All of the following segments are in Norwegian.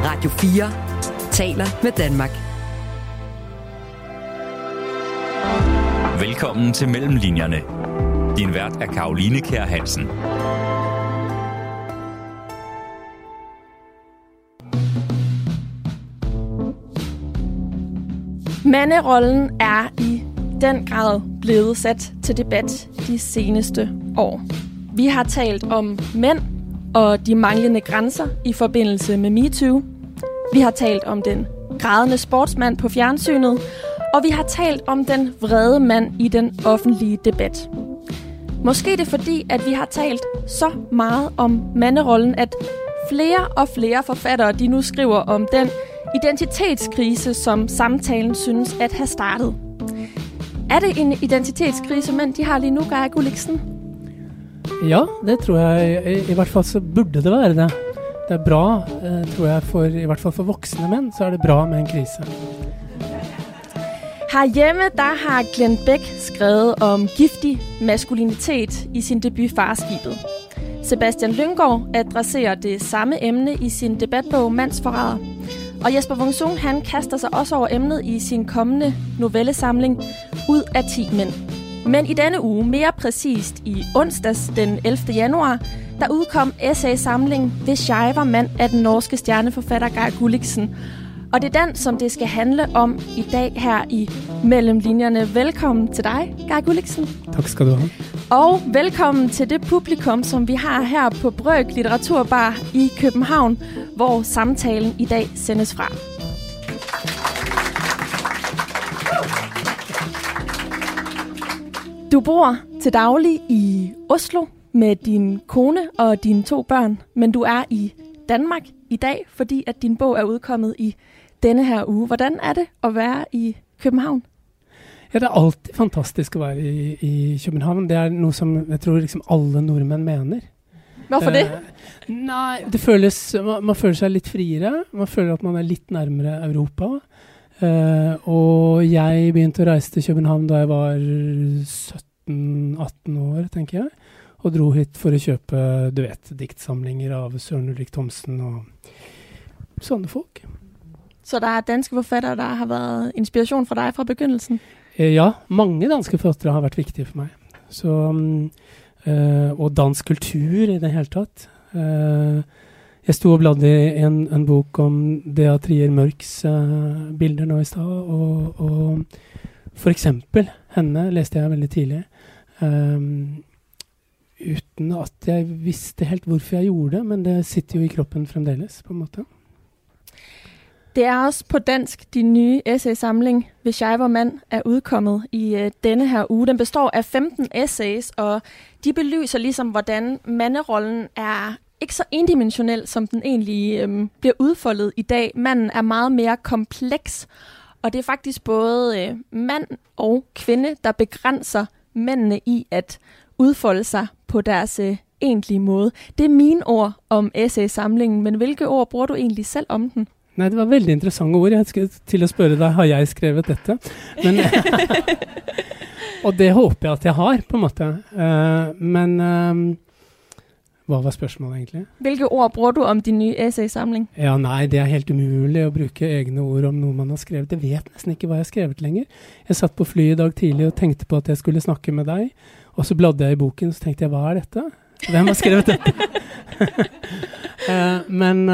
Radio 4 taler med Danmark. Velkommen til Mellemlinjerne. Din vært er Caroline Kjær Hansen. Manderollen er i den grad blevet sat til debat de seneste år. Vi har talt om mænd og de manglende grænser i forbindelse med MeToo. Vi har talt om den grædende sportsmand på fjernsynet, og vi har talt om den vrede mand i den offentlige debat. Måske er det fordi, at vi har talt så meget om manderollen, at flere og flere forfattere de nu skriver om den identitetskrise, som samtalen synes at have startet. Er det en identitetskrise, mænd de har lige nu, Geir Gulliksen? Ja, det tror jeg. I hvert fall så burde det være det. Det er bra, tror jeg, i hvert fall for voksne mænd, så er det bra med en krise. Herhjemme, der har Glenn Beck skrevet om giftig maskulinitet i sin debut Farskibet. Sebastian Lynggaard adresserer det samme emne i sin debatbog Mandsforræder. Og Jesper Wung-Sung, han kaster sig også over emnet i sin kommende novellesamling Ud af 10 mænd. Men i denne uge, mere præcist i onsdags den 11. januar, der udkom essaysamlingen Hvis jeg var mand af den norske stjerneforfatter Geir Gulliksen. Og det er den, som det skal handle om i dag her i Mellemlinjerne. Velkommen til dig, Geir Gulliksen. Tak skal du have. Og velkommen til det publikum, som vi har her på Brøk Litteraturbar i København, hvor samtalen i dag sendes fra. Du bor til daglig i Oslo med din kone og dine 2 børn, men du er i Danmark i dag, fordi at din bog er udkommet i denne her uge. Hvordan er det at være i København? Ja, det er alltid fantastisk at være i København. Det er noget, som jeg tror liksom alle nordmænd mener. Hvorfor det? Nej, det føles, man føler sig lidt friere. Man føler, at man er lidt nærmere Europa. Og jeg begyndte at rejse til København, da jeg var 17-18 år, tænker jeg. Og drog hit for at købe, du vet, digtsamlinger av Søren Ulrik Thomsen og sådanne folk. Så der er danske forfattere, der har været inspiration for dig fra begyndelsen? Ja, mange danske forfattere har været vigtige for mig. Så, og dansk kultur i det hele taget. Jeg stod og bladde i en bok om Dea Trier Mørks bilder nå i stad, og for eksempel henne læste jeg veldig tidlig. Uten at jeg visste helt hvorfor jeg gjorde det, men det sitter jo i kroppen fremdeles, på en måte. Det er også på dansk, din nye essaysamling, Hvis jeg var mand, er udkommet i denne her uge. Den består af 15 essays, og de belyser ligesom, hvordan manderollen er ikke så endimensionel, som den egentlig bliver udfoldet i dag. Manden er meget mere kompleks, og det er faktisk både mand og kvinde, der begrænser mændene i at udfolde sig på deres egentlige måde. Det er mine ord om essaysamlingen, men hvilke ord bruger du egentlig selv om den? Nej, det var veldig interessante ord. Jeg skulle til at spørge dig, har jeg skrevet dette? Men, og det håber jeg, at jeg har, på en måte. Men hvad var spørgsmålet egentlig? Hvilke ord bruger du om din nye essaysamling? Ja, nej, det er helt umuligt at bruge egne ord om noget, man har skrevet. Jeg vet næsten ikke, hvad jeg har skrevet længere. Jeg satt på fly i dag tidlig og tænkte på, at jeg skulle snakke med dig. Og så bladde jeg i boken, så tænkte jeg, hvad er dette? Hvem har skrevet dette? Men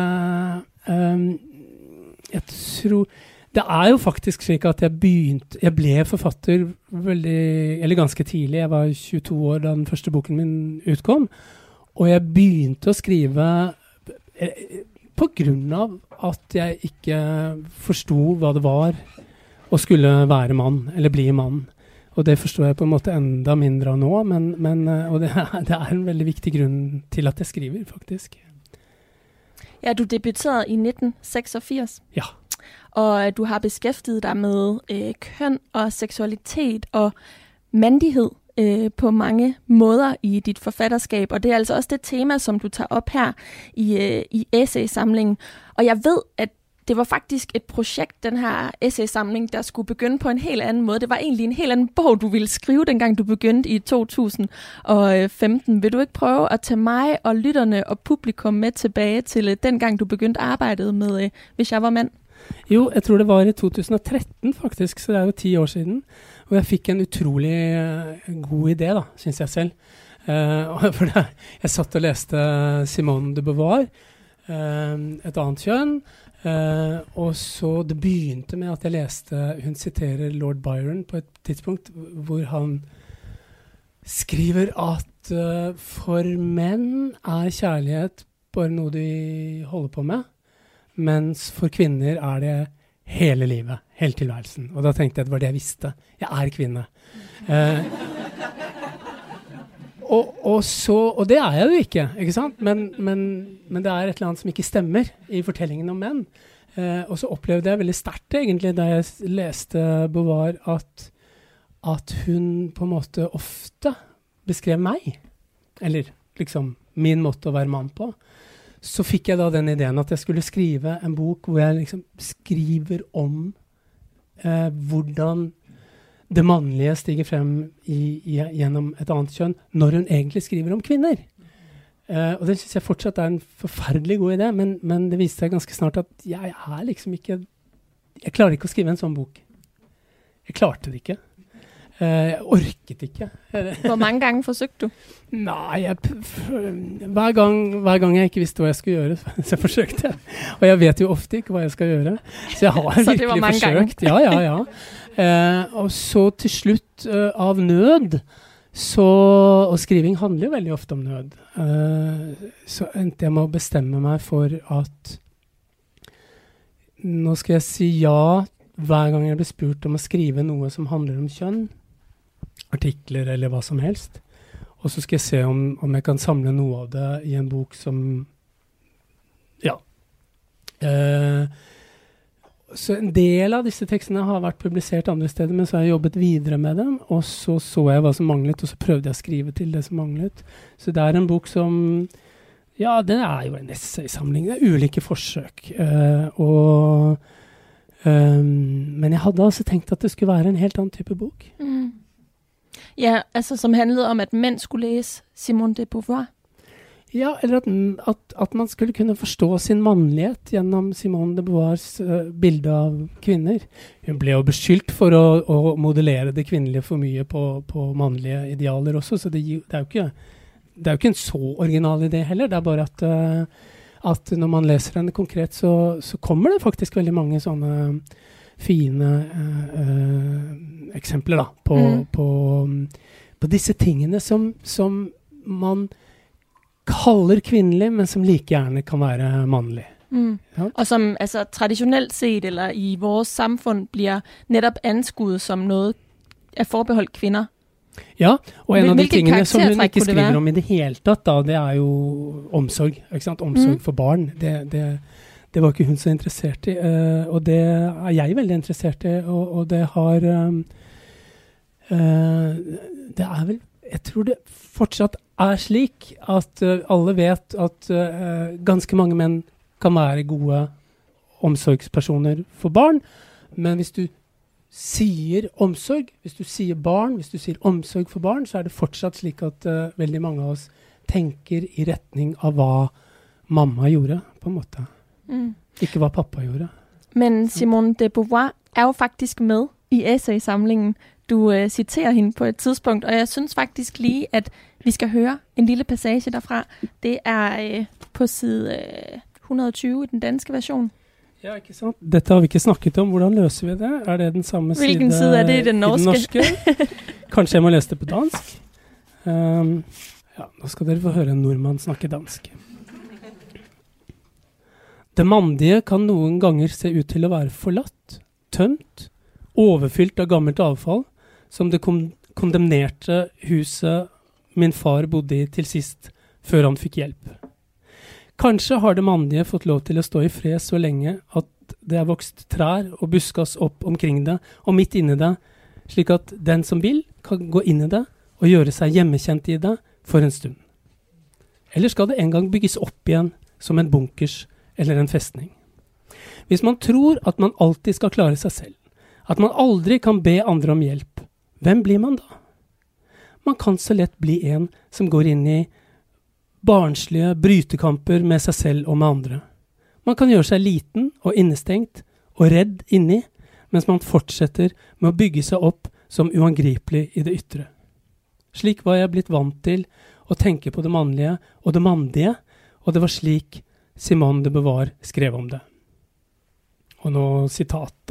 jeg tror det er jo faktisk slik at jeg ble forfatter veldig, eller ganske tidlig. Jeg var 22 år da den første boken min utkom, og jeg begynte at skrive på grund av at jeg ikke forstod hvad det var at skulle være mann, eller bli mann. Og det forstår jeg på en måte enda mindre nå, men og det er en veldig viktig grund til at jeg skriver, faktisk. Ja, du debuterede i 1986. Ja. Og du har beskæftiget dig med køn og seksualitet og mandighed på mange måder i dit forfatterskab. Og det er altså også det tema, som du tager op her i essaysamlingen. Og jeg ved, at det var faktisk et projekt, den her essaysamling, der skulle begynde på en helt anden måde. Det var egentlig en helt anden bog, du ville skrive, dengang du begyndte i 2015. Vil du ikke prøve at tage mig og lytterne og publikum med tilbage til dengang, du begyndte arbejdet med Hvis jeg var mand? Jo, jeg tror det var i 2013 faktisk, så det jo 10 år siden. Og jeg fikk en utrolig god idé, da, synes jeg selv. For jeg satt og leste Simone de Beauvoir, Et annet kjønn, og så det begynte med at jeg leste, hun siterer Lord Byron på et tidspunkt, hvor han skriver at for menn kjærlighet bare noe de holder på med, mens for kvinner det hele livet, hele tilværelsen. Og da tenkte jeg at det var det jeg visste. Jeg kvinne. Og det jeg jo ikke sant? Men det et eller annet som ikke stemmer i fortellingen om menn. Og så opplevde jeg veldig sterkt egentlig da jeg leste Beauvoir at hun på en måte ofte beskrev meg, eller liksom min måte å være mann på. Så fikk jeg da den ideen at jeg skulle skrive en bok hvor jeg liksom skriver om hvordan det mannlige stiger frem gjennom et annet kjønn når hun egentlig skriver om kvinner. Og det synes jeg fortsatt en forferdelig god idé, men det viste seg ganske snart at jeg liksom ikke, jeg klarer ikke å skrive en sånn bok. Jeg klarte det ikke. Jeg orket ikke. Hvor mange ganger forsøgte du? Nei, hver gang jeg ikke visste hva jeg skulle gjøre, så forsøkte jeg. Og jeg vet jo ofte ikke hva jeg skal gjøre. Så jeg har virkelig forsøkt. Ja. Og så til slutt av nød, og skriving handler jo veldig ofte om nød, så endte jeg med å bestemme meg for at nå skal jeg si ja hver gang jeg blir spurt om å skrive noe som handler om kjønn, artikler eller hva som helst. Og så skal jeg se om jeg kan samle noe av det i en bok som, ja. Så en del av disse tekstene har vært publisert andre steder, men så har jeg jobbet videre med dem, og så jeg hva som manglet, og så prøvde jeg å skrive til det som manglet. Så det en bok som, ja, det jo en essaysamling, det ulike forsøk. Men jeg hadde altså tenkt at det skulle være en helt annen type bok. Mm. Ja, altså som handlede om, at mænd skulle læse Simone de Beauvoir. Ja, eller at man skulle kunne forstå sin mannlighet gjennom Simone de Beauvoirs bilde av kvinner. Hun ble jo beskyldt for å modellere det kvinnelige for mye på mannlige idealer også, så det jo ikke en så original idé heller. Det bare at når man leser henne konkret, så kommer det faktisk veldig mange sånne fine eksempler da, på disse tingene som man kaller kvinnelig, men som like gjerne kan være mannlig. Mm. Ja. Og som altså, traditionelt set, eller i vores samfund, bliver netop anskuet som noget forbeholdt kvinder. Ja, og en av de tingene som hun ikke skriver om i det hele tatt, da, det jo omsorg, ikke sant? Omsorg for barn. Det var ikke hun så interessert i, og det jeg veldig interessert i, og det har det vel, jeg tror det fortsatt slik at alle vet at ganske mange menn kan være gode omsorgspersoner for barn, men hvis du sier omsorg, hvis du sier barn, hvis du sier omsorg for barn, så det fortsatt slik at veldig mange av oss tenker i retning av hva mamma gjorde, på en måte. Mm. Ikke hva pappa gjorde. Men Simone de Beauvoir jo faktisk med i essaysamlingen. Du citerer hende på et tidspunkt, og jeg synes faktisk lige, at vi skal høre en lille passage derfra. Det på side 120 i den danske version. Ja, ikke sant? Dette har vi ikke snakket om. Hvordan løser vi det? Det den samme Hvilken side det i den norske? Kanskje jeg må lese det på dansk? Ja, nå skal dere få høre en nordmann snakke dansk. Det mandige kan noen ganger se ut til å være forlatt, tømt, overfylt av gammelt avfall, som det kondemnerte huset min far bodde i til sist, før han fikk hjelp. Kanskje har det mandige fått lov til å stå i fred så lenge at det vokst trær og buskas opp omkring det, og midt inne det, slik at den som vil kan gå inn i det og gjøre seg hjemmekjent i det for en stund. Eller skal det en gang bygges opp igjen som en bunkers eller en festning? Hvis man tror at man alltid skal klare seg selv, at man aldri kan be andre om hjelp, hvem blir man da? Man kan så lett bli en som går inn i barnslige brytekamper med seg selv og med andre. Man kan gjøre seg liten og innestengt og redd inni, mens man fortsetter med å bygge seg opp som uangripelig i det ytre. Slik var jeg blitt vant til å tenke på det mannlige og det mandige, og det var slik Simone de Beauvoir skrev om det. Og nå sitatet.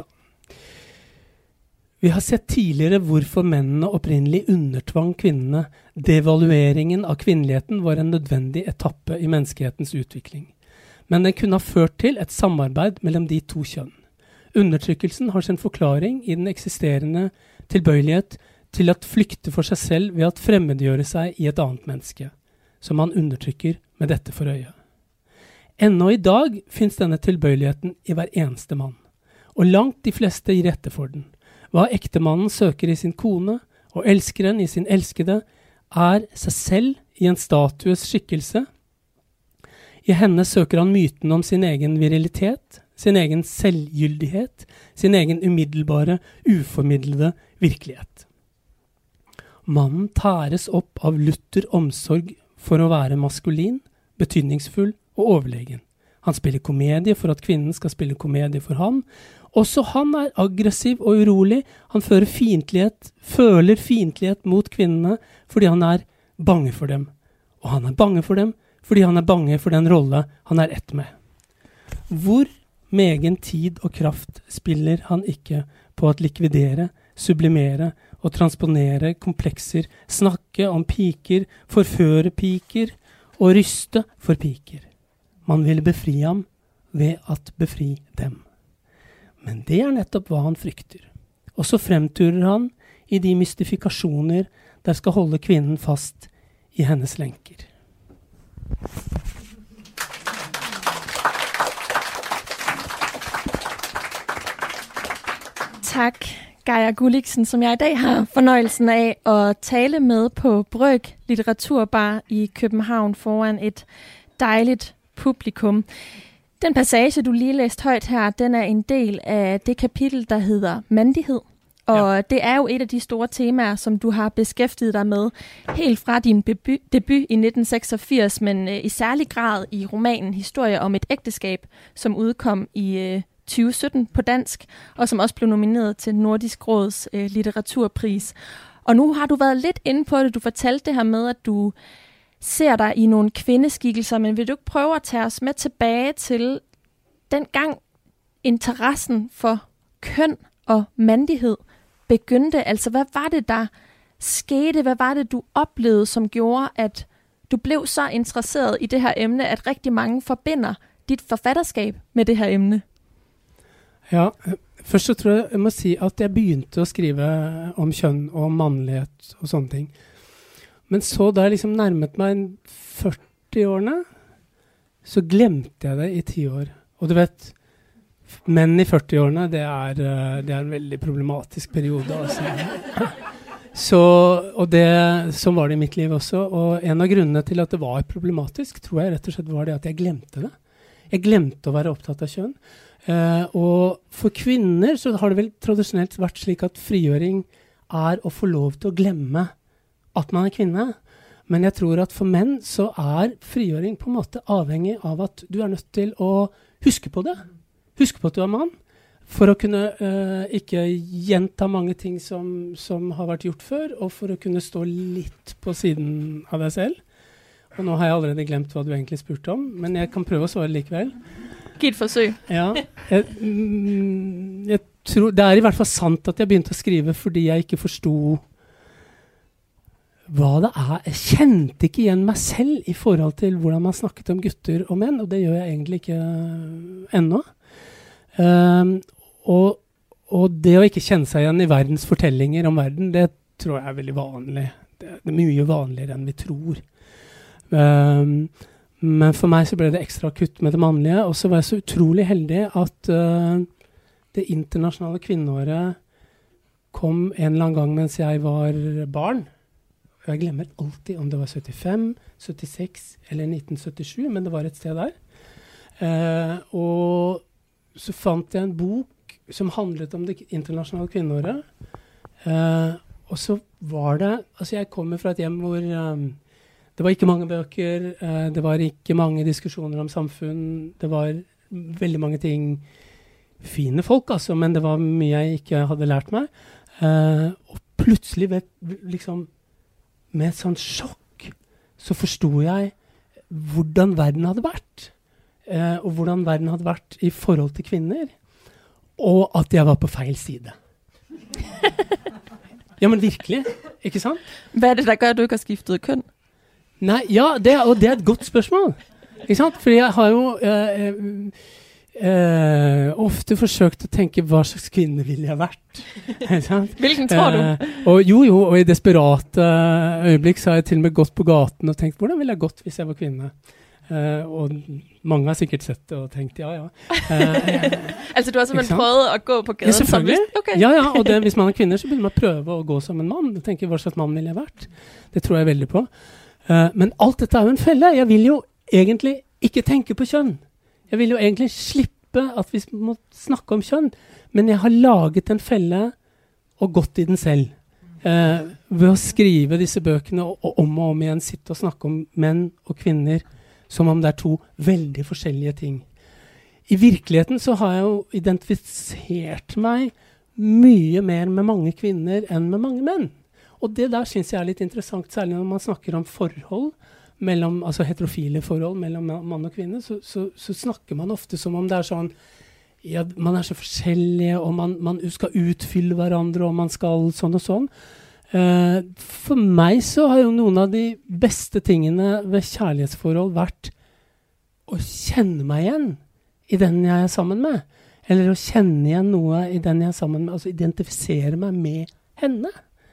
Vi har sett tidligere hvorfor mennene opprinnelig undertvang kvinnene. Devalueringen av kvinneligheten var en nødvendig etappe i menneskehetens utvikling. Men den kunne ha ført til et samarbeid mellom de to kjønn. Undertrykkelsen har sin forklaring i den eksisterende tilbøyelighet til at flykte for seg selv ved at fremmedgjøre seg i et annet menneske, som man undertrykker med dette for øye. Ennå i dag finnes denne tilbøyeligheten i hver eneste mann, og langt de fleste gir etter for den. Hva ektemannen søker i sin kone, og elskeren i sin elskede, er seg selv i en statues skikkelse. I henne søker han myten om sin egen virilitet, sin egen selvgyldighet, sin egen umiddelbare, uformidlede virkelighet. Mannen tæres opp av lutter omsorg for å være maskulin, betydningsfull og overlegen. Han spiller komedie for at kvinnen skal spille komedie for han. Også han er aggressiv og urolig. Han føler fiendtlighet mot kvinnene fordi han er bange for dem. Og han er bange for dem fordi han er bange for den rolle han er ett med. Hvor megen tid og kraft spiller han ikke på at likvidere, sublimere og transponere komplekser, snakke om piker, forføre piker og ryste for piker. Man vil befri ham ved at befri dem. Men det er nettopp hva han frykter. Og så fremturer han i de mystifikasjoner der skal holde kvinnen fast i hennes lenker. Tak, Geir Gulliksen, som jeg i dag har fornøjelsen af at tale med på Brøg Litteraturbar i København foran et dejligt publikum. Den passage, du lige læste højt her, den er en del af det kapitel, der hedder mandighed. Og det er jo et af de store temaer, som du har beskæftiget dig med helt fra din debut i 1986, men i særlig grad i romanen Historie om et ægteskab, som udkom i 2017 på dansk, og som også blev nomineret til Nordisk Råds litteraturpris. Og nu har du været lidt inde på det. Du fortalte det her med, at du ser dig i nogle kvindeskikkelser, men vil du ikke prøve at tage os med tilbage til dengang interessen for køn og mandighed begyndte? Altså, hvad var det, der skete? Hvad var det, du oplevede, som gjorde, at du blev så interesseret i det her emne, at rigtig mange forbinder dit forfatterskab med det her emne? Ja, først så tror jeg må si at jeg begynte å skrive om kjønn og mannlighet og sånne ting. Men så da jeg liksom nærmet meg 40-årene, så glemte jeg det i 10 år. Og du vet, menn i 40-årene, det er en veldig problematisk periode. Altså. Sånn var det i mitt liv også. Og en av grunnene til at det var problematisk, tror jeg rett og slett var det at jeg glemte det. Jeg glemte å være opptatt av kjønn. Og for kvinner så har det vel tradisjonelt vært slik at frigjøring er å få lov til å glemme at man er kvinne. Men jeg tror at for menn så er frigjøring på en måte avhengig av at du er nødt til å huske på det. Huske på at du er mann, for å kunne ikke gjenta mange ting som har vært gjort før, og for å kunne stå litt på siden av deg selv. Og nå har jeg allerede glemt hva du egentlig spurte om, men jeg kan prøve å svare likevel. Giv et forsøg. Ja, jeg tror, det er i hvert fall sant at jeg begynte å skrive fordi jeg ikke forstod hva det er. Jeg kjente ikke igjen meg selv i forhold til hvordan man snakket om gutter og menn, og det gjør jeg egentlig ikke ennå. Og det å ikke kjenne seg igjen i verdens fortellinger om verden, det tror jeg er veldig vanlig. Det er mye vanligere enn vi tror. Men for meg så ble det ekstra kutt med det mannlige, og så var jeg så utrolig heldig at det internasjonale kvinneåret kom en eller annen gang mens jeg var barn. Jeg glemmer alltid om det var 75, 76 eller 1977, men det var et sted der. Og så fant jeg en bok som handlet om det internasjonale kvinneåret. Og så var det, altså jeg kommer fra et hjem hvor det var ikke mange bøker, det var ikke mange diskusjoner om samfunn, det var veldig mange ting, fine folk altså, men det var mye jeg ikke hadde lært meg. Og plutselig liksom, med et sånt sjokk, så forstod jeg hvordan verden hadde vært. Og hvordan verden hadde vært i forhold til kvinner. Og at jeg var på feil side. Ja, men virkelig. Ikke sant? Hvad er det, der gør, at du ikke har skiftet køn? Nei, ja, det er et godt spørsmål. Ikke sant? Fordi jeg har jo ofte forsøkt å tenke hva slags kvinne ville jeg vært. Hvilken tror du? Og i desperate øyeblikk så har jeg til og med gått på gaten og tenkt, hvordan ville jeg gått hvis jeg var kvinne? Og mange har sikkert sett det og tenkt, ja. Altså du har simpelthen prøvet å gå på gaden? Ja, selvfølgelig. Okay. Ja, og hvis man er kvinner så vil man prøve å gå som en mann. Tenke hva slags mann ville jeg vært? Det tror jeg veldig på. Men alt dette er jo en felle. Jeg vil jo egentlig ikke tenke på kjønn. Jeg vil jo egentlig slippe at vi må snakke om kjønn, men jeg har laget en felle og gått i den selv. Ved å skrive disse bøkene og om igjen sitte og snakke om menn og kvinner som om det er to veldig forskjellige ting. I virkeligheten så har jeg jo identifisert meg mye mer med mange kvinner enn med mange menn. Og det der synes jeg er litt interessant, særlig når man snakker om forhold, altså heterofile forhold mellom mann og kvinne, så snakker man ofte som om det er sånn, ja, man er så forskjellige, og man skal utfylle hverandre, og man skal sånn og sånn. For meg så har jo noen av de beste tingene ved kjærlighetsforhold vært å kjenne meg igjen i den jeg er sammen med, eller å kjenne igjen noe i den jeg er sammen med, altså identifisere meg med henne.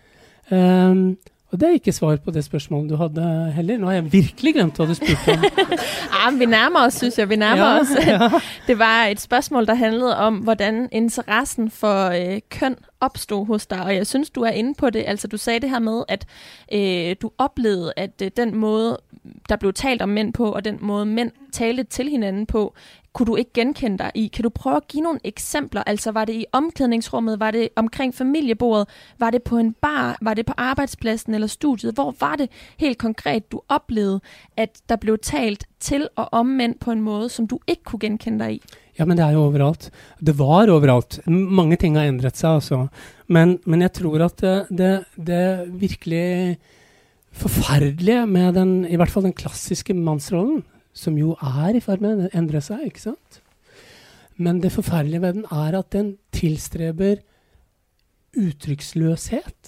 Og det er ikke svar på det spørsmålet du hadde heller. Nå har jeg virkelig glemt hva du spurte om. Men vi nærmer os, synes jeg. Vi nærmer os. Ja. Det var et spørgsmål, der handlede om, hvordan interessen for køn opstod hos dig. Og jeg synes, du er inde på det. Altså, du sagde det her med, at du oplevede, at den måde, der blev talt om mænd på, og den måde, mænd talte til hinanden på, kunne du ikke genkende dig i. Kan du prøve at give nogle eksempler? Altså, var det i omklædningsrummet? Var det omkring familiebordet? Var det på en bar? Var det på arbejdspladsen eller studiet? Hvor var det helt konkret, du oplevede, at der blev talt til og om mænd på en måde, som du ikke kunne genkende dig i? Ja, men det er jo overalt. Det var overalt. Mange ting har endret seg, altså. Men jeg tror at det virkelig forferdelige med i hvert fall den klassiske mannsrollen, som jo er i ferd med å endre seg, ikke sant? Men det forferdelige ved den er at den tilstreber uttrykksløshet.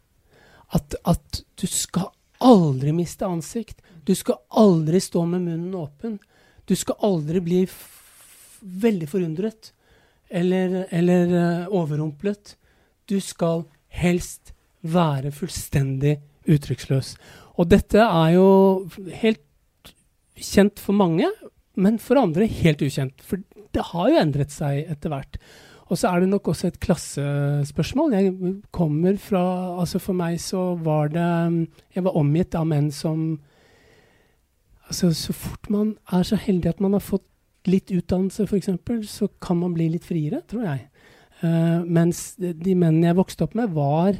At du skal aldri miste ansikt. Du skal aldri stå med munnen åpen. Du skal aldri bli veldig forundret eller overrumplet. Du skal helst være fullstendig uttrykksløs. Og dette er jo helt kjent for mange, men for andre helt ukjent. For det har jo endret seg etter hvert. Og så er det nok også et klassespørsmål. Jeg kommer fra, altså for meg så var det, jeg var omgitt av menn som, altså så fort man er så heldig at man har fått litt utdannelse for eksempel, så kan man bli litt friere, tror jeg. Mens de mennene jeg vokste opp med var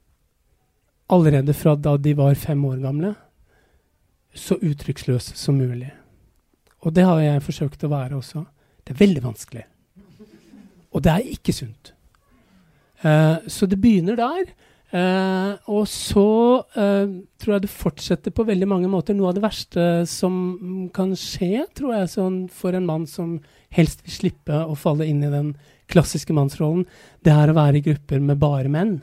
allerede fra da de var 5 år gamle, så uttrykksløs som mulig. Og det har jeg forsøkt å være også. Det er veldig vanskelig. Og det er ikke sunt. Så det begynner der. Og så tror jeg det fortsetter på veldig mange måter. Noe av det verste som kan skje, tror jeg, sånn for en mann som helst vil slippe å falle inn i den klassiske mannsrollen, det er å være i grupper med bare menn.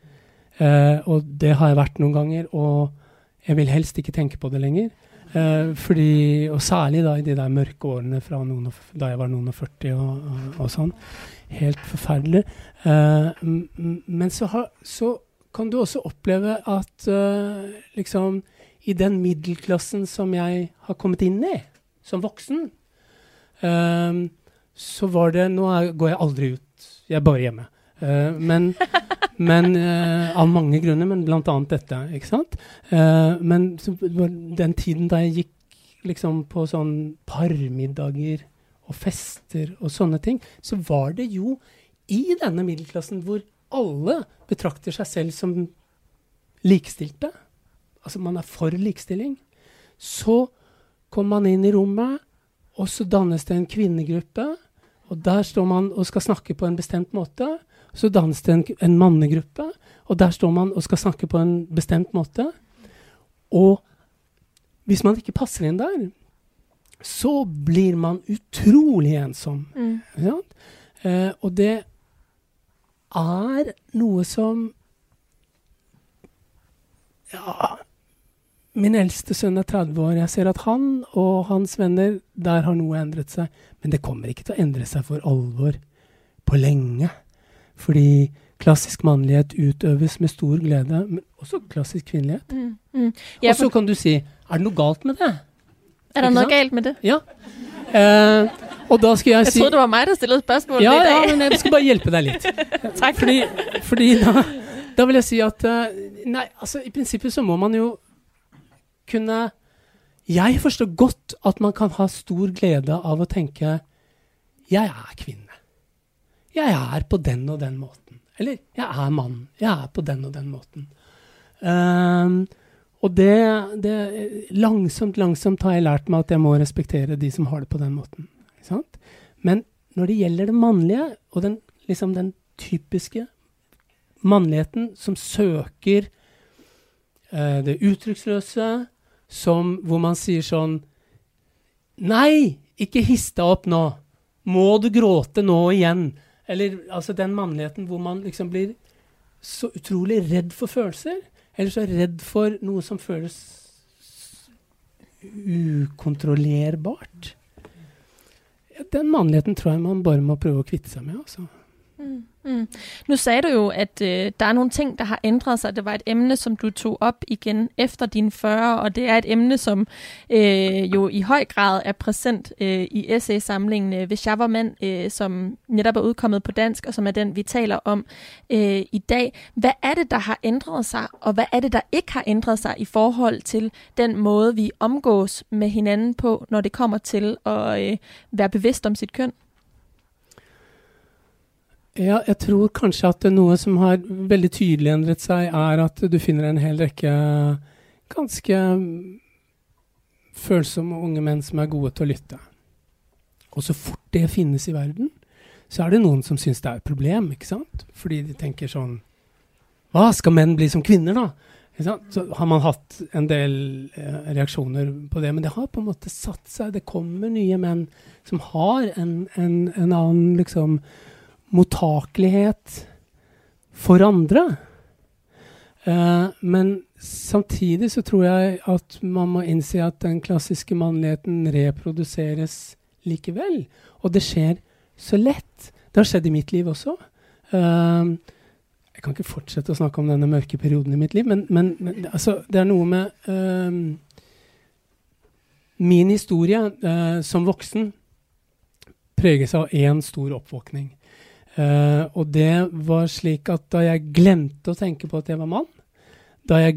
Og det har jeg vært noen ganger, og jeg vil helst ikke tenke på det lenger. Fordi, og særlig da i de der mørke årene fra da jeg var noen og 40 og sånn. Helt forferdelig. Men så kan du også oppleve at liksom i den middelklassen som jeg har kommet inn i, som voksen, så var det, går jeg aldri ut. Jeg er bare hjemme. Men av mange grunner, men blant annet dette, ikke sant? Men så, den tiden da jeg gikk liksom på sånn parmiddager og fester og sånne ting, så var det jo i denne middelklassen hvor alle betrakter seg selv som likestilte, altså man for likestilling, så kommer man inn i rommet, og så dannes det en kvinnegruppe, og der står man og skal snakke på en bestemt måte, så dannes det en mannegruppe, og der står man og skal snakke på en bestemt måte, og hvis man ikke passer inn der, så blir man utrolig ensom. Ja? Og det noe som min eldste sønn 30 år. Jeg ser at han og hans venner, der har noe endret seg. Men det kommer ikke til å endre seg for alvor på lenge. Fordi klassisk mannlighet utøves med stor glede, men også klassisk kvinnelighet. Ja, og så kan du si, det noe galt med det? Det noe galt med det? Ja. Og da skal jeg si... Jeg trodde det var meg der stillede spørsmål i dag. Ja, men jeg skal bare hjelpe deg litt. Takk. Fordi da vil jeg si at nei, altså i prinsippet så må man jo kunne... Jeg forstår godt at man kan ha stor glede av å tenke jeg kvinne. Jeg på den og den måten. Eller jeg mann. Jeg på den og den måten. Og det langsomt har jeg lært meg at jeg må respektere de som har det på den måten. Ikke sant? Men når det gjelder det mannlige, og den typiske mannligheten som søker det uttrykksløse, hvor man sier sånn, nei, ikke hiss deg opp nå, må du gråte nå igjen? Eller altså den mannligheten hvor man liksom blir så utrolig redd for følelser, eller så redd for noe som føles ukontrollerbart. Den mannligheten tror jeg man bare må prøve å kvitte seg med, altså. Nu sagde du jo, at der nogle ting, der har ændret sig. Det var et emne, som du tog op igen efter dine 40, og det et emne, som jo i høj grad præsent i essaysamlingen Hvis jeg var mand, som netop udkommet på dansk, og som den, vi taler om i dag. Hvad det, der har ændret sig, og hvad det, der ikke har ændret sig i forhold til den måde, vi omgås med hinanden på, når det kommer til at være bevidst om sit køn? Ja, jeg tror kanskje at noe som har veldig tydelig endret seg at du finner en hel rekke ganske følsomme unge menn som gode til å lytte. Og så fort det finnes i verden, så det noen som synes det et problem, ikke sant? Fordi de tenker sånn, hva skal menn bli som kvinner da? Ikke sant? Så har man hatt en del reaksjoner på det, men det har på en måte satt seg. Det kommer nye menn som har en annen liksom mottakelighet for andre. Men samtidig så tror jeg at man må innse at den klassiske mannligheten reproduseres likevel. Og det skjer så lett. Det har skjedd i mitt liv også. Jeg kan ikke fortsette å snakke om denne mørke perioden i mitt liv, men altså, det noe med min historie som voksen preges av en stor oppvåkning. Og det var slik at da jeg glemte å tenke på at jeg var mann, da jeg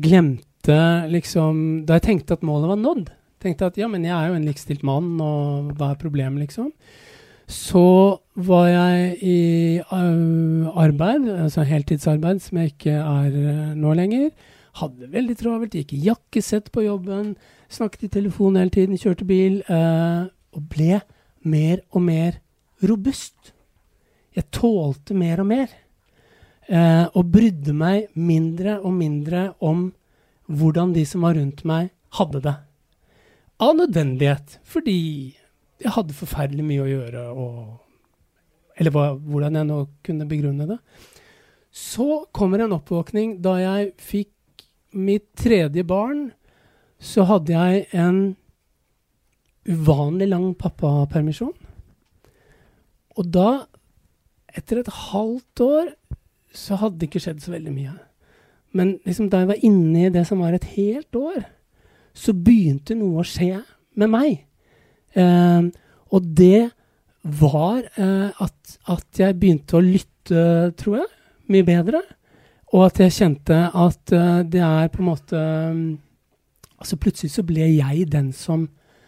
tenkte at målet var nådd, tenkte at ja, men jeg jo en likestilt mann, og hva problemet liksom, så var jeg i arbeid, altså heltidsarbeid, som jeg ikke nå lenger, hadde veldig travelt, gikk i jakkesett på jobben, snakket i telefon hele tiden, kjørte bil, og ble mer og mer robust. Jeg tålte mer og mer, og brydde meg mindre og mindre om hvordan de som var rundt meg hadde det. Av nødvendighet, fordi jeg hadde forferdelig mye å gjøre, eller hvordan jeg nå kunne begrunne det. Så kommer en oppvåkning. Da jeg fikk mitt 3. barn, så hadde jeg en uvanlig lang pappapermisjon. Og da etter et halvt år så hadde det ikke skjedd så veldig mye. Men liksom da jeg var inne i det som var et helt år, så begynte noe å skje med meg. Og det var at jeg begynte å lytte, tror jeg, mye bedre. Og at jeg kjente at det på en måte... Altså plutselig så ble jeg den som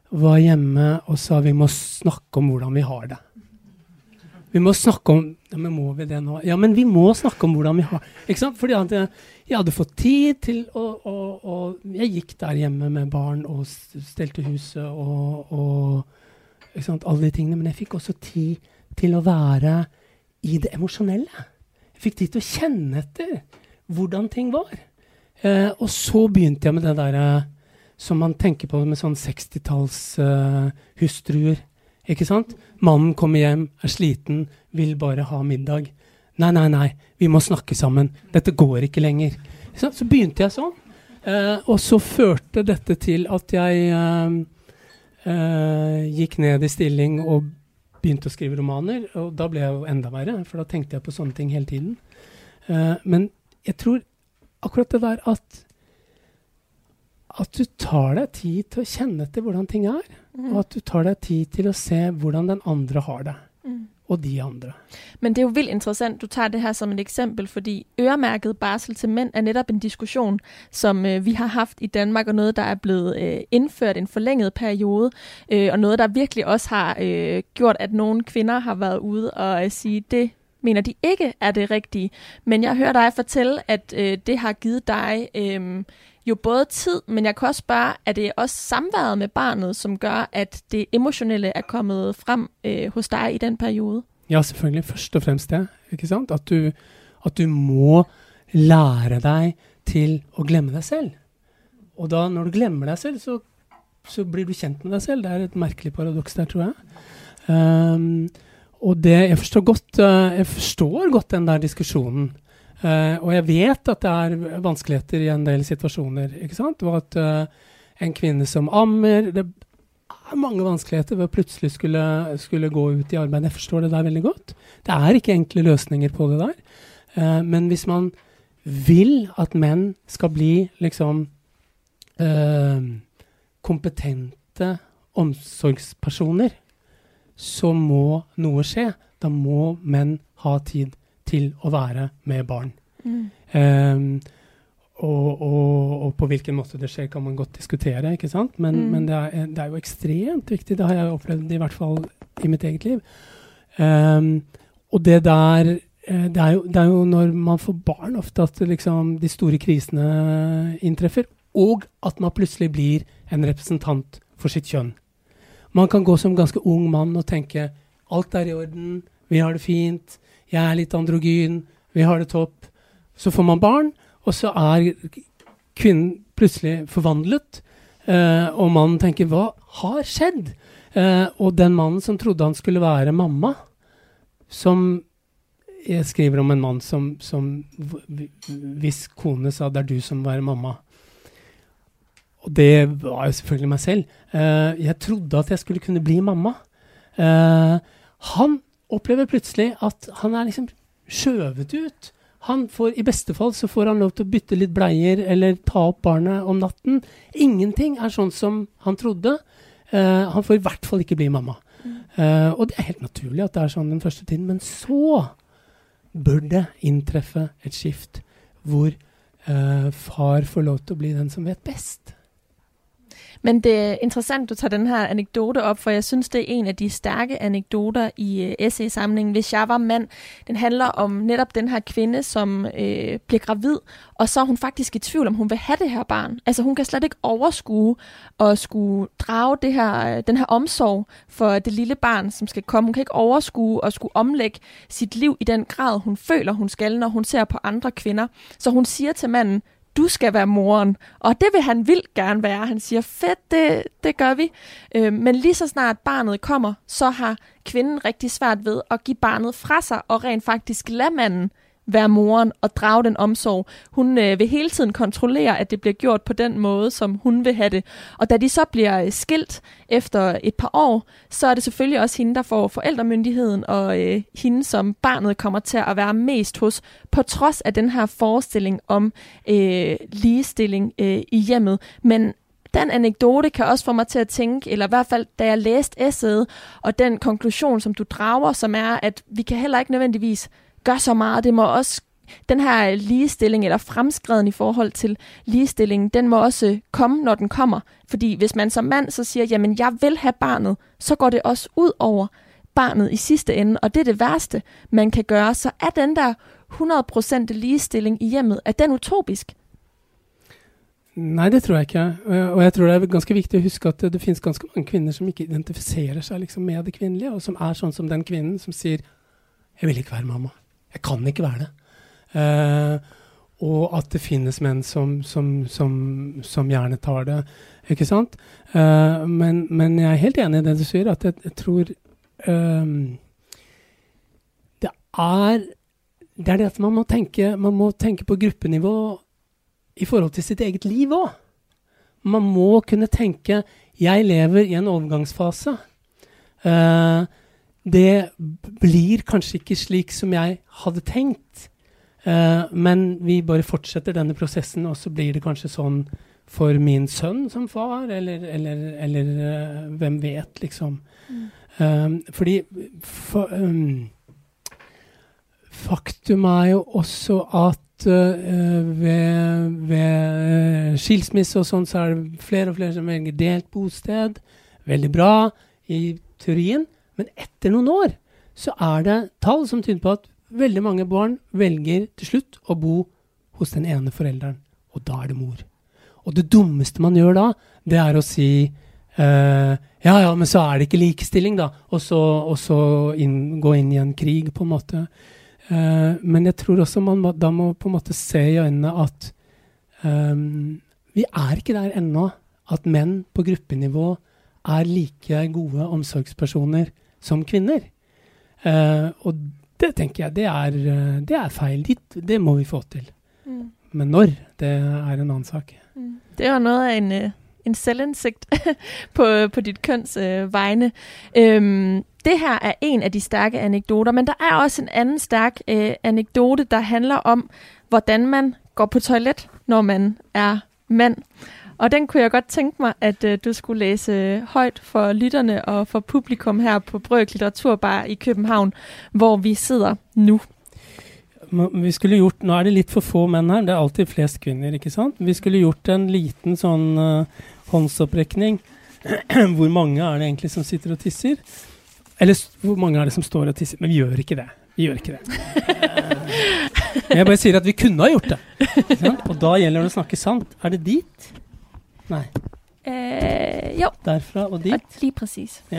var hjemme og sa vi må snakke om hvordan vi har det. Vi må snakke om, ja, men må vi det nå? Ja, men vi må snakke om hvordan vi har det. Ikke sant? Fordi at jeg hadde fått tid til og jeg gikk der hjemme med barn og stelte huset og ikke sant, alle de tingene, men jeg fikk også tid til å være i det emosjonelle. Jeg fikk tid til å kjenne etter hvordan ting var. Og så begynte jeg med det der som man tenker på med sånn 60-talls hustruer. Ikke sant? Mannen kommer hjem, sliten, vil bare ha middag. Nei, vi må snakke sammen. Dette går ikke lenger. Så begynte jeg sånn. Og så førte dette til at jeg gikk ned i stilling og begynte å skrive romaner. Og da ble jeg jo enda verre, for da tenkte jeg på sånne ting hele tiden. Men jeg tror akkurat det der at du tar deg tid til å kjenne etter hvordan ting er, og at du tar deg tid til å se hvordan den andre har det, og de andre. Men det er jo vildt interessant, du tager det her som et eksempel, fordi øremærket barsel til mænd er netop en diskussion, som vi har haft i Danmark, og noget, der er blevet indført en forlænget periode, og noget, der virkelig også har gjort, at nogle kvinder har været ude og sige, det mener de ikke er det rigtige. Men jeg hører dig fortælle, at det har givet dig jo både tid, men jeg kan også spørge, er det også samværet med barnet, som gør, at det emotionelle er kommet frem hos dig i den periode? Ja, selvfølgelig. Først og fremst det, ikke sant? At du må lære deg til å glemme deg selv. Og da, når du glemmer deg selv, så blir du kjent med deg selv. Det er et merkelig paradoks der, tror jeg. Og det, jeg forstår godt den der diskusjonen. Og jeg vet at det er vanskeligheter i en del situasjoner, ikke sant? Og at en kvinne som ammer, det er mange vanskeligheter ved å plutselig skulle gå ut i arbeid. Jeg forstår det der veldig godt. Det er ikke enkle løsninger på det der. Men hvis man vil at menn skal bli liksom kompetente omsorgspersoner, så må noe skje. Da må menn ha tid til å være med barn. Og på hvilken måte det skjer kan man godt diskutere, ikke sant? Men det er jo ekstremt viktig. Det har jeg opplevd i hvert fall i mitt eget liv. Og det der, det er jo når man får barn ofte at liksom, de store krisene inntreffer, og at man plutselig blir en representant for sitt kjønn. Man kan gå som ganske ung mann og tenke, alt er i orden, vi har det fint, jeg er litt androgyn, vi har det topp. Så får man barn, og så er kvinnen plutselig forvandlet, og mannen tenker, hva har skjedd? Og den mannen som trodde han skulle være mamma, som jeg skriver om en mann som hvis kone sa, det er du som må være mamma. Og det var jo selvfølgelig meg selv. Jeg trodde at jeg skulle kunne bli mamma. Han opplever plutselig at han er liksom skjøvet ut. I beste fall så får han lov til å bytte litt bleier eller ta opp barnet om natten. Ingenting er sånn som han trodde. Han får i hvert fall ikke bli mamma. Og det er helt naturlig at det er sånn den første tiden. Men så bør det inntreffe et skift hvor far får lov til å bli den som vet best. Men det er interessant, du tager den her anekdote op, for jeg synes, det er en af de stærke anekdoter i essaysamlingen, Hvis jeg var mand. Den handler om netop den her kvinde, som bliver gravid, og så er hun faktisk i tvivl, om hun vil have det her barn. Altså hun kan slet ikke overskue og skulle drage den her omsorg for det lille barn, som skal komme. Hun kan ikke overskue og skulle omlægge sit liv i den grad, hun føler, hun skal, når hun ser på andre kvinder. Så hun siger til manden, du skal være moren. Og det vil han vildt gerne være. Han siger, fedt, det gør vi. Men lige så snart barnet kommer, så har kvinden rigtig svært ved at give barnet fra sig, og rent faktisk lade manden være moren og drage den omsorg. Hun vil hele tiden kontrollere, at det bliver gjort på den måde, som hun vil have det. Og da de så bliver skilt efter et par år, så er det selvfølgelig også hende, der får forældremyndigheden, og hende, som barnet kommer til at være mest hos, på trods af den her forestilling om ligestilling i hjemmet. Men den anekdote kan også få mig til at tænke, eller i hvert fald da jeg læste essayet, og den konklusion, som du drager, som er, at vi kan heller ikke nødvendigvis gøre så meget. Det må også den her ligestilling, eller fremskreden i forhold til ligestilling, den må også komme, når den kommer. Fordi hvis man som mand så siger, jamen jeg vil have barnet, så går det også ud over barnet i sidste ende, og det er det værste, man kan gøre. Så er den der 100% ligestilling i hjemmet, er den utopisk? Nej, det tror jeg ikke. Og jeg tror det er ganske vigtigt at huske, at det findes ganske mange kvinder, som ikke identifiserer sig liksom med det kvinnelige, og som er sånn som den kvinnen som siger, jeg vil ikke være mamma. Jeg kan ikke være det. Og at det finnes menn som gjerne tar det, ikke sant? Men jeg er helt enig i det du sier, at jeg tror det er det at man må tenke på gruppenivå i forhold til sitt eget liv også. Man må kunne tenke, jeg lever i en overgangsfase. Det blir kanskje ikke slik som jeg hadde tenkt, men vi bare fortsetter denne prosessen, og så blir det kanskje sånn for min sønn som far, eller hvem vet, liksom. Fordi faktum er jo også at ved skilsmisse og sånn, så er det flere og flere som velger delt bosted. Veldig bra i teorien, men etter noen år så er det tall som tyder på at veldig mange barn velger til slutt å bo hos den ene forelderen, og da er det mor. Og det dummeste man gjør da, det er å si ja, men så er det ikke likestilling da, og så gå inn i en krig på en måte. Men jeg tror også man da må på en måte se i øynene at vi er ikke der ennå at menn på gruppenivå er like gode omsorgspersoner som kvinner. Og det tenker jeg, det er feil. Det må vi få til. Men når, det er en annen sak. Det er jo noget af en selvindsigt på dit køns vegne. Det her er en af de stærke anekdoter, men der er også en anden stærk anekdote, der handler om, hvordan man går på toilet, når man er mand. Og den kunne jeg godt tænke mig, at du skulle læse højt for lytterne og for publikum her på Brøk Litteraturbar i København, hvor vi sidder nu. Vi skulle gjort, nå er det litt for få menn her, det er alltid flest kvinner, ikke sant? Vi skulle gjort en liten sånn håndsopprekning. Hvor mange er det egentlig som sitter og tisser? Eller hvor mange er det som står og tisser? Men vi gjør ikke det. Jeg bare sier at vi kunne ha gjort det. Og da gjelder det å snakke sant. Er det dit? Nei. Jo. Derfra og dit? Lige præcis. Ja.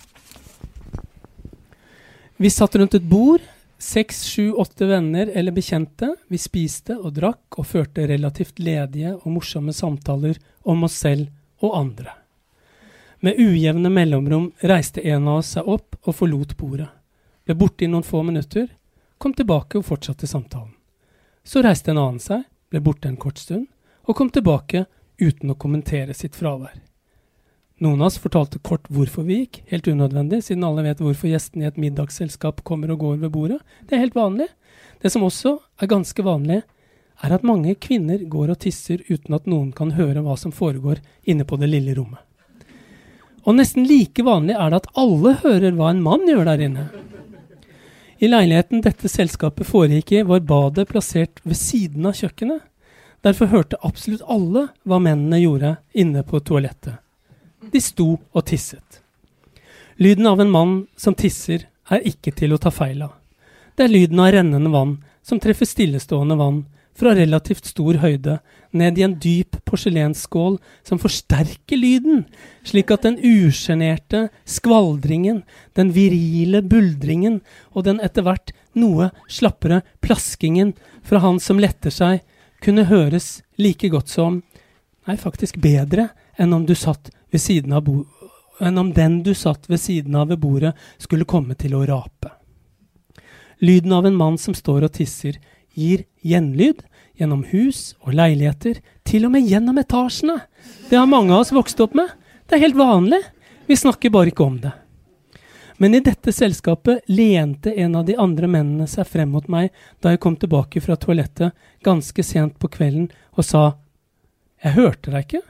Vi satt rundt et bord, 6, 7, 8 venner eller bekjente. Vi spiste og drakk og førte relativt ledige og morsomme samtaler om oss selv og andre. Med ujevne mellomrom reiste en av oss seg opp og forlot bordet. Ble borte i noen få minutter, kom tilbake og fortsatte samtalen. Så reiste en annen seg, ble borte en kort stund, og kom tilbake uten å kommentere sitt fravær. Noen av oss fortalte kort hvorfor vi gikk, helt unødvendig, siden alle vet hvorfor gjestene i et middagsselskap kommer og går ved bordet. Det er helt vanlig. Det som også er ganske vanlig, er at mange kvinner går og tisser uten at noen kan høre hva som foregår inne på det lille rommet. Og nesten like vanlig er det at alle hører hva en mann gjør der inne. I leiligheten dette selskapet foregikk i var badet plassert ved siden av kjøkkenet. Derfor hørte absolutt alle hva mennene gjorde inne på toalettet. De sto og tisset. Lyden av en mann som tisser er ikke til å ta feil av. Det er lyden av rennende vann som treffer stillestående vann fra relativt stor høyde ned i en dyp porselensskål som forsterker lyden, slik at den ugenerte skvaldringen, den virile buldringen og den etter hvert noe slappere plaskingen fra han som letter seg kunne høres like godt som, nei faktisk bedre, enn om du satt ved siden av enn om den du satt ved siden av ved bordet skulle komme til å rape. Lyden av en mann som står og tisser gir gjenlyd gjennom hus og leiligheter, til og med gjennom etasjene. Det har mange av oss vokst opp med. Det er helt vanlig. Vi snakker bare ikke om det. Men i dette selskapet lente en av de andre mennene seg frem mot meg da jeg kom tilbake fra toalettet ganske sent på kvelden og sa, «Jeg hørte deg ikke».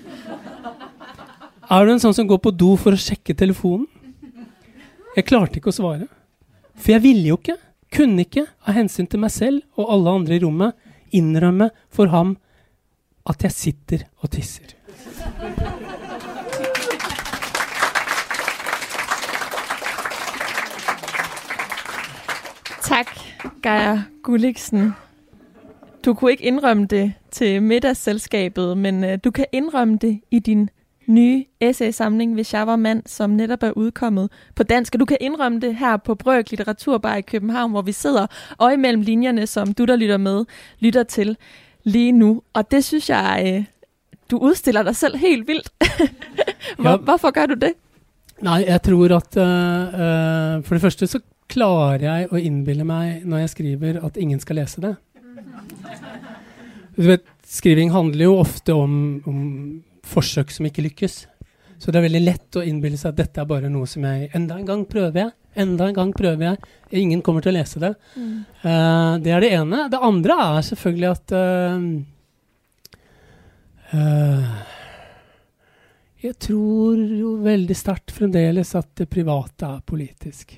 Er du en sånn som går på do for å sjekke telefonen? Jeg klarte ikke å svare. For jeg ville jo ikke. kunne ikke, av hensyn til meg selv og alle andre i rommet, innrømme for ham at jeg sitter og tisser. Tak, Geir Gulliksen. Du kunne ikke indrømme det til middagsselskabet, men du kan indrømme det i din nye essaysamling, Hvis jeg var mand, som netop er udkommet på dansk. Og du kan indrømme det her på Brøk Litteraturbar i København, hvor vi sidder og imellem linjerne, som du, der lytter med, lytter til lige nu. Og det synes jeg, du udstiller dig selv helt vildt. Hvorfor gør du det? Nej, jeg tror at for det første så klarer jeg å innbille meg når jeg skriver at ingen skal lese det. Du vet, skriving handler jo ofte om forsøk som ikke lykkes. Så det er veldig lett å innbille seg at dette er bare noe som jeg enda en gang prøver jeg. Ingen kommer til å lese det. Det er det ene. Det andre er selvfølgelig at jeg tror jo veldig sterkt fremdeles at det private er politisk.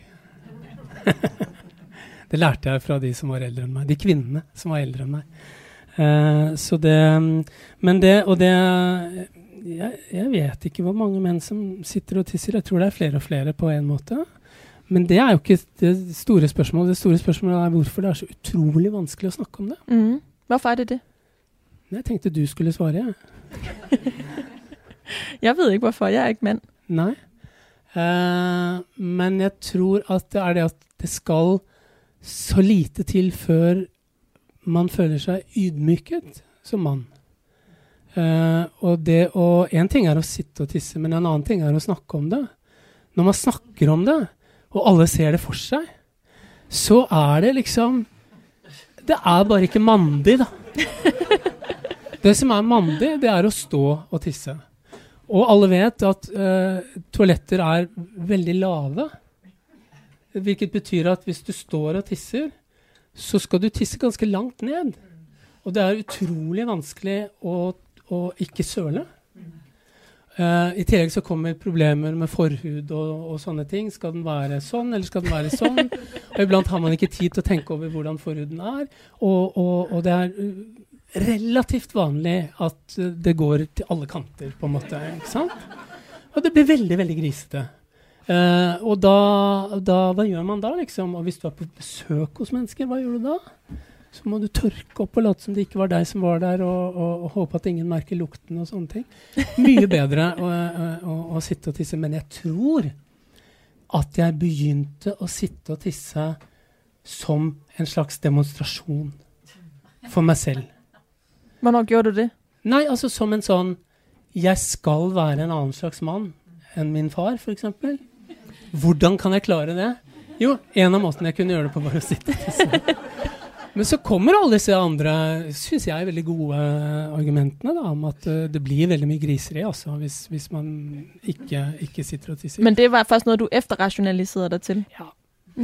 Det lærte jeg fra de som var eldre enn meg. De kvinnene som var eldre enn meg. Så det, men det, og det, jeg vet ikke hvor mange menn som sitter og tisser. Jeg tror det er flere og flere på en måte. Men det er jo ikke det store spørsmålet. Det store spørsmålet er hvorfor det er så utrolig vanskelig å snakke om det. Hvorfor er det det? Jeg tenkte du skulle svare. Jeg ved ikke hvorfor. Jeg er ikke mand. Nei. Men jeg tror at det er det at det skal så lite til før man føler seg ydmyket som mann. Og en ting er å sitte og tisse, men en annen ting er å snakke om det. Når man snakker om det, og alle ser det for seg, så er det liksom, det er bare ikke mandig da. Det som er mandig, det er å stå og tisse. Og alle vet at toaletter er veldig lave, hvilket betyr at hvis du står og tisser, så skal du tisse ganske langt ned. Og det er utrolig vanskelig å ikke søle. I tillegg så kommer problemer med forhud og sånne ting. Skal den være sånn, eller skal den være sånn? Og iblant har man ikke tid til å tenke over hvordan forhuden er. Og det er relativt vanlig at det går til alle kanter, på en måte. Ikke sant? Og det blir veldig, veldig grisete. Og hva gjør man da, liksom? Og hvis du er på besøk hos mennesker, hva gjør du da? Så må du tørke opp og late som det ikke var deg som var der, og håpe at ingen merker lukten og sånne ting. Mye bedre å sitte og tisse, men jeg tror at jeg begynte å sitte og tisse som en slags demonstrasjon for meg selv. Hvornår gjorde du det? Nei, altså som en sånn, jeg skal være en annen slags mann enn min far, for eksempel. Hvordan kan jeg klare det? Jo, en av måtene jeg kunne gjøre det på bare å sitte og tisse. Men så kommer alle disse andre, synes jeg, veldig gode argumentene da, om at det blir veldig mye griseri, altså, hvis man ikke sitter og tisser. Men det var faktisk noget, du efterrationaliserede dig til? Ja.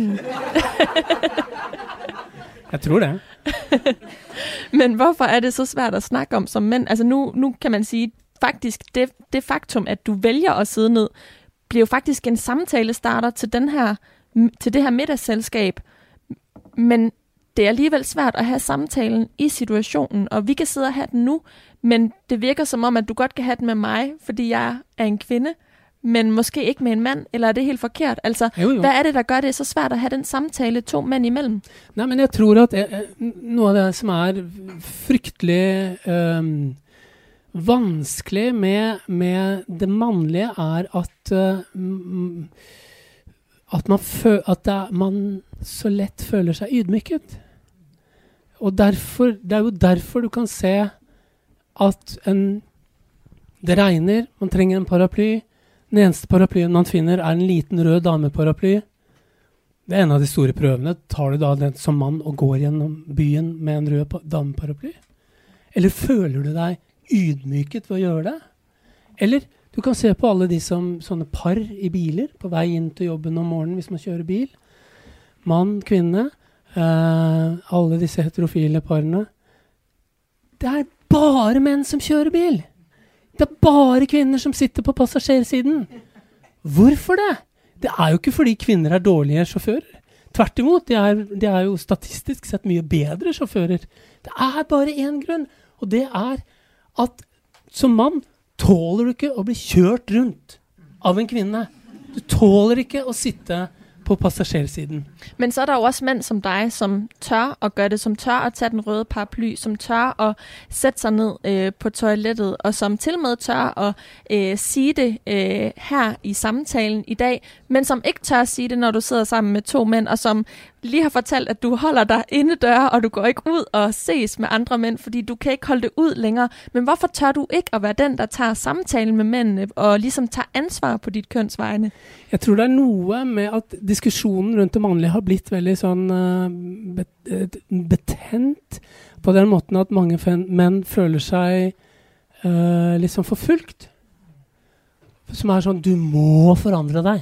Jeg tror det. Men hvorfor er det så svært at snakke om som mænd? Altså nu kan man sige, faktisk det faktum, at du vælger at sidde ned, bliver jo faktisk en samtalestarter til det her middagsselskab. Men det er alligevel svært at have samtalen i situationen, og vi kan sidde og have den nu, men det virker som om, at du godt kan have den med mig, fordi jeg er en kvinde, men måske ikke med en mand, eller er det helt forkert? Altså, jo. Hvad er det, der gør det så svært at have den samtale to mænd imellem? Nej, men jeg tror, at noe av det som er fryktelig vanskelig med det mannlige er at man så lett føler seg ydmyket. Og det er jo derfor du kan se at det regner, man trenger en paraply. Den eneste paraplyen man finner er en liten rød dameparaply. Det er en av de store prøvene. Tar du da den som mann og går gjennom byen med en rød dameparaply? Eller føler du deg ydmyket ved å gjøre det? Eller du kan se på alle de sånne par i biler på vei inn til jobben om morgenen hvis man kjører bil. Mann, kvinne, alle disse heterofile parene. Det er bare menn som kjører bil. Det er bare kvinner som sitter på passasjersiden. Hvorfor det? Det er jo ikke fordi kvinner er dårlige sjåfører. Tvert imot, de er jo statistisk sett mye bedre sjåfører. Det er bare en grunn, og det er at som mann tåler du ikke å bli kjørt rundt av en kvinne. Du tåler ikke å sitte på passasjersiden. Men så er der jo også mænd som dig, som tør at gøre det, som tør at tage den røde paraply, som tør at sætte sig ned på toilettet, og som til og med tør at sige det her i samtalen i dag, men som ikke tør at sige det, når du sidder sammen med 2 mænd, og som lige har fortalt, at du holder dig indendøre, og du går ikke ud og ses med andre mænd, fordi du kan ikke holde det ud længere. Men hvorfor tør du ikke at være den, der tager samtalen med mændene, og ligesom tager ansvar på dit kønsvegne? Jeg tror det er noe med at diskussionen rundt det mannlige har blitt veldig sånn betent på den måten at mange menn føler seg liksom forfulgt. Som er sånn, du må forandre deg.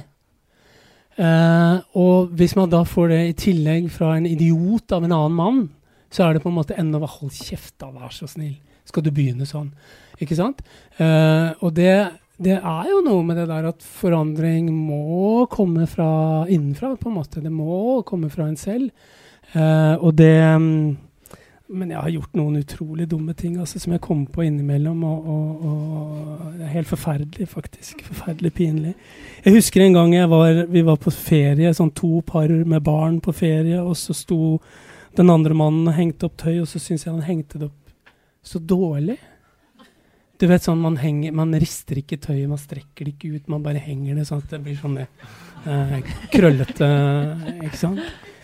Og hvis man da får det i tillegg fra en idiot av en annen mann, så er det på en måte enda hold kjeft da, vær så snill. Skal du begynne sånn? Ikke sant? Og det er jo noe med det der at forandring må komme fra innenfra, på en måte. Det må komme fra en selv. Og det... Men jeg har gjort noen utrolig dumme ting altså, som jeg kom på innimellom, og det er helt forferdelig, faktisk. Forferdelig pinlig. Jeg husker en gang vi var på ferie, sånn 2 par med barn på ferie, og så sto den andre mannen og hengte opp tøy, og så synes jeg han hengte det opp så dårlig. Du vet sånn, man rister ikke tøyet, man strekker det ikke ut, man bare henger det sånn at det blir sånn krøllete, ikke sant?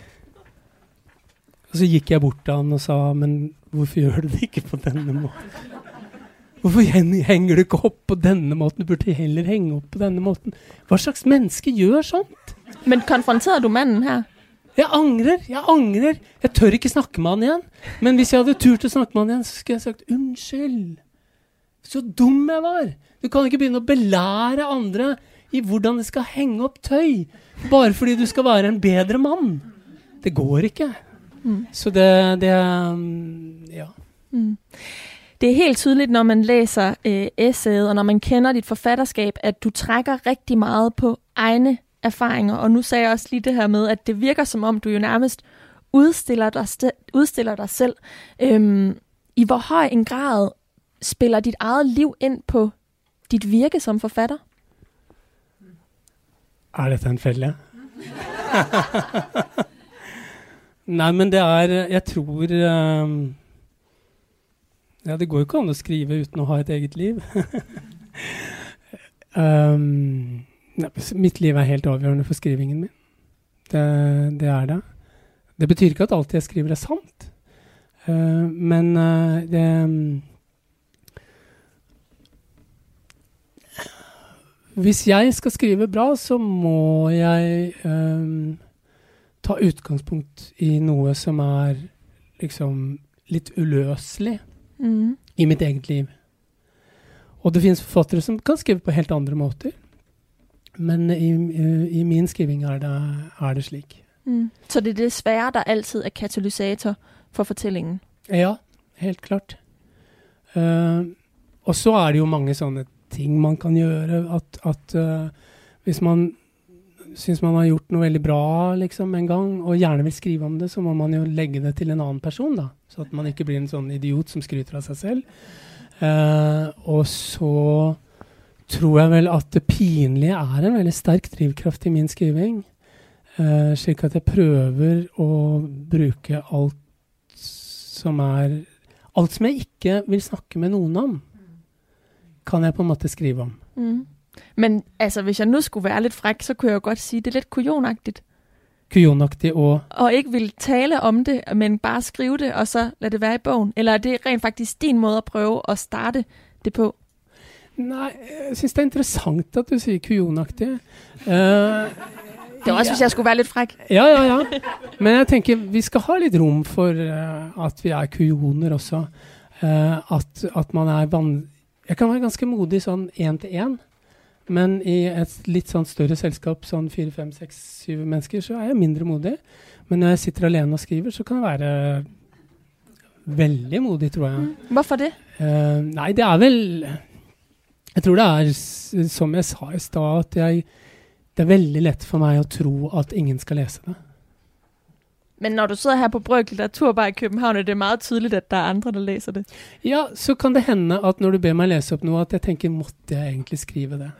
Og så gikk jeg bort til han og sa, men hvorfor gjør du det ikke på denne måten? Hvorfor henger du ikke opp på denne måten? Du burde heller henge opp på denne måten. Hva slags menneske gjør sånt? Men konfronterer du mannen her? Jeg angrer. Jeg tør ikke snakke med han igjen. Men hvis jeg hadde turt å snakke med han igjen, så skulle jeg sagt, unnskyld. Så dum jeg var. Du kan ikke begynne å belære andre i hvordan de skal henge opp tøy, bare fordi du skal være en bedre mann. Det går ikke. Så det ja. Det er helt tydeligt, når man læser essayet, og når man kender dit forfatterskab, at du trækker rigtig meget på egne erfaringer. Og nu sagde jeg også lige det her med, at det virker som om, du jo nærmest udstiller dig selv. I hvor høj en grad spiller dit eget liv ind på dit virke som forfatter? Er dette en fælde? Nei, men det jeg tror ja, det går jo ikke an å skrive uten å ha et eget liv. Mitt liv helt avgjørende for skrivingen min. Det det. Det betyr ikke at alt jeg skriver sant. Men hvis jeg skal skrive bra, så må jeg ta utgangspunkt i noe som liksom litt uløselig i mitt eget liv. Og det finnes forfattere som kan skrive på helt andre måter. Men i min skriving det slik. Så det det svære, der altid katalysator for fortællingen? Ja, helt klart. Og så det jo mange sånne ting man kan gjøre, at hvis man synes man har gjort noe veldig bra liksom, en gang, og gjerne vil skrive om det, så må man jo legge det til en annen person, da. Så at man ikke blir en sånn idiot som skryter av seg selv. Og så tror jeg vel at det pinlige en veldig sterk drivkraft i min skriving, slik at jeg prøver å bruke alt som jeg ikke vil snakke med noen om, kan jeg på en måte skrive om. Men altså, hvis jeg nu skulle være lidt fræk, så kunne jeg jo godt sige, det lidt kujonagtigt. Kujonagtigt og ikke ville tale om det, men bare skrive det, og så lade det være i bogen. Eller det rent faktisk din måde at prøve at starte det på? Nej, jeg synes det interessant at du sier kujonagtigt. Det også, hvis jeg skulle være lidt fræk. Ja. Men jeg tenker, vi skal ha litt rom for at vi kujoner også. At man jeg kan være ganske modig sånn 1-til-1, men i et litt sånn større selskap, sånn 4, 5, 6, 7 mennesker, så jeg mindre modig. Men når jeg sitter alene og skriver, så kan jeg være veldig modig, tror jeg. Hvorfor det? Nei, det vel... Jeg tror det som jeg sa i stad, at det veldig lett for meg å tro at ingen skal lese det. Men når du sidder her på Brøk Litteraturbar i København, er det meget tydeligt, at der er andre, der læser det. Ja, så kan det hende at når du ber meg lese opp noe, at jeg tenker, måtte jeg egentlig skrive det?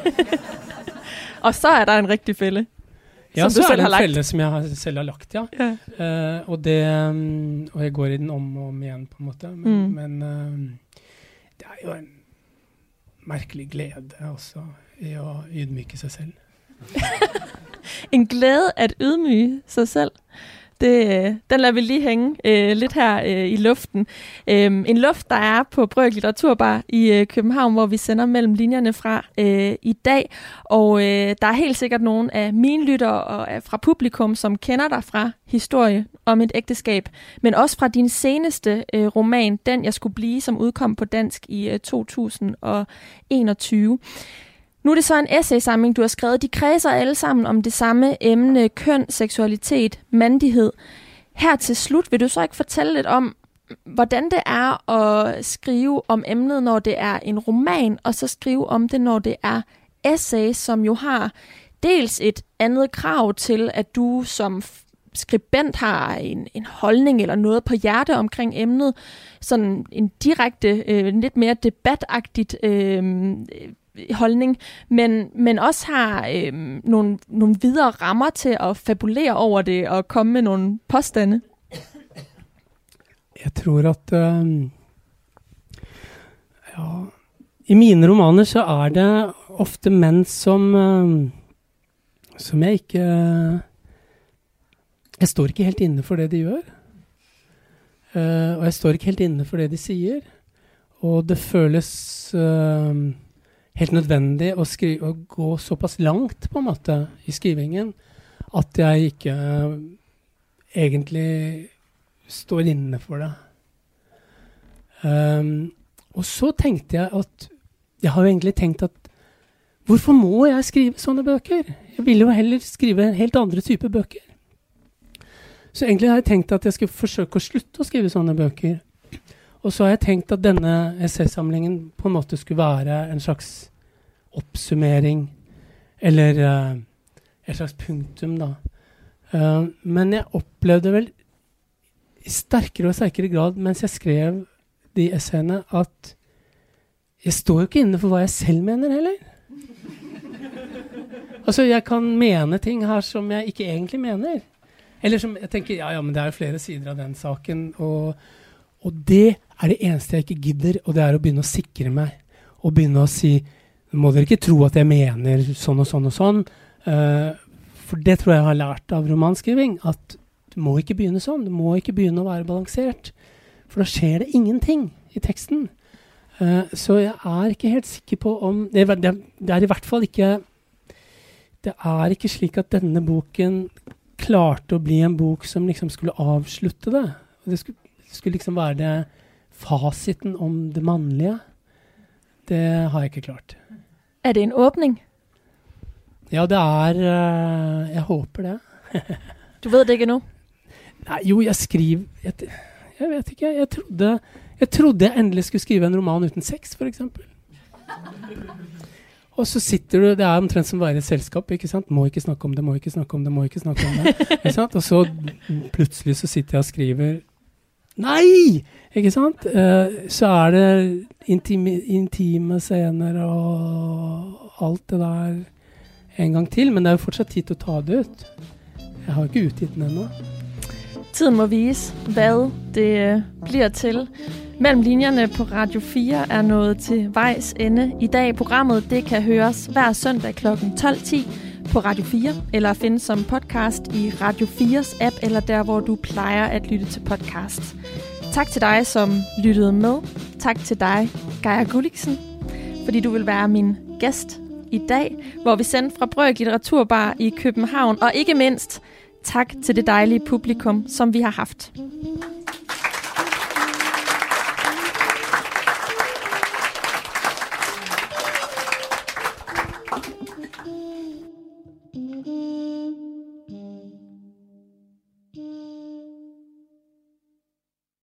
Og så er der en rigtig fælde. Ja, så er det en felle som jeg selv har lagt, ja. Og jeg går i den om og om igjen, på en måte. Men det er jo en merkelig glede også i å ydmyke seg selv. En glæde at ydmyge sig selv. Den lader vi lige hænge lidt her i luften. En luft, der er på Brøk Litteraturbar i København, hvor vi sender mellem linjerne fra i dag. Og der er helt sikkert nogle af mine lyttere og fra publikum, som kender dig fra Historie om et ægteskab, men også fra din seneste roman, Den jeg skulle blive, som udkom på dansk i 2021. Nu er det så en essaysamling, du har skrevet. De kredser alle sammen om det samme emne, køn, seksualitet, mandighed. Her til slut vil du så ikke fortælle lidt om, hvordan det er at skrive om emnet, når det er en roman, og så skrive om det, når det er essay, som jo har dels et andet krav til, at du som skribent har en holdning eller noget på hjerte omkring emnet, sådan en direkte, lidt mere debatagtigt holdning, men også har nogle videre rammer til at fabulere over det og komme med nogle påstande. Jeg tror at i mine romaner så er det ofte menn som jeg ikke jeg står ikke helt inne for det de gjør. Og jeg står ikke helt inne for det de sier. Og det føles helt nødvendig å gå såpass langt på en måte i skrivingen at jeg ikke egentlig står inne for det. Og så tenkte jeg at jeg har jo egentlig tenkt at hvorfor må jeg skrive sånne bøker? Jeg ville jo heller skrive helt andre typer bøker. Så egentlig har jeg tenkt at jeg skal forsøke å slutte å skrive sånne bøker. Og så har jeg tenkt at denne essaysamlingen på en måte skulle være en slags oppsummering, eller et slags punktum da. Men jeg opplevde vel i sterkere og sterkere grad, mens jeg skrev de essayene, at jeg står jo ikke inne for hva jeg selv mener heller. Altså, jeg kan mene ting her som jeg ikke egentlig mener. Eller som jeg tenker, ja, men det er flere sider av den saken, og det er det eneste jeg ikke gidder, og det er å begynne å sikre meg, og begynne å si, må dere ikke tro at jeg mener sånn og sånn og sånn, for det tror jeg har lært av romanskriving, at du må ikke begynne sånn, du må ikke begynne å være balansert, for da skjer det ingenting i teksten. Så jeg er ikke helt sikker på om, det er i hvert fall ikke, det er ikke slik at denne boken klarte å bli en bok som liksom skulle avslutte det. Det skulle liksom være det fasiten om det mannlige. Det har jeg ikke klart. Er det en åbning? Ja, det er, jeg håper det. Du ved det ikke nu? Nei, jo, jeg skriver, jeg vet ikke, jeg trodde jeg endelig skulle skrive en roman uten sex, for eksempel. Og så sitter du, det er omtrent som å være i et selskap, ikke sant? Må ikke snakke om det, må ikke snakke om det, må ikke snakke om det. Ikke sant? Og så plutselig så sitter jeg og skriver, nei! Ikke sant? Så er det intime scener og alt det der en gang til, men det er jo fortsatt tid til å ta det ut. Jeg har ikke utgitt den ennå. Tiden må vise, hvad det bliver til. Mellem linjerne på Radio 4 er nået til vejs ende i dag. Programmet det kan høres hver søndag kl. 12:10 på Radio 4, eller findes som podcast i Radio 4's app, eller der, hvor du plejer at lytte til podcast. Tak til dig, som lyttede med. Tak til dig, Geir Gulliksen, fordi du vil være min gæst i dag, hvor vi sendte fra Brøk Litteraturbar i København. Og ikke mindst, tak til det dejlige publikum, som vi har haft.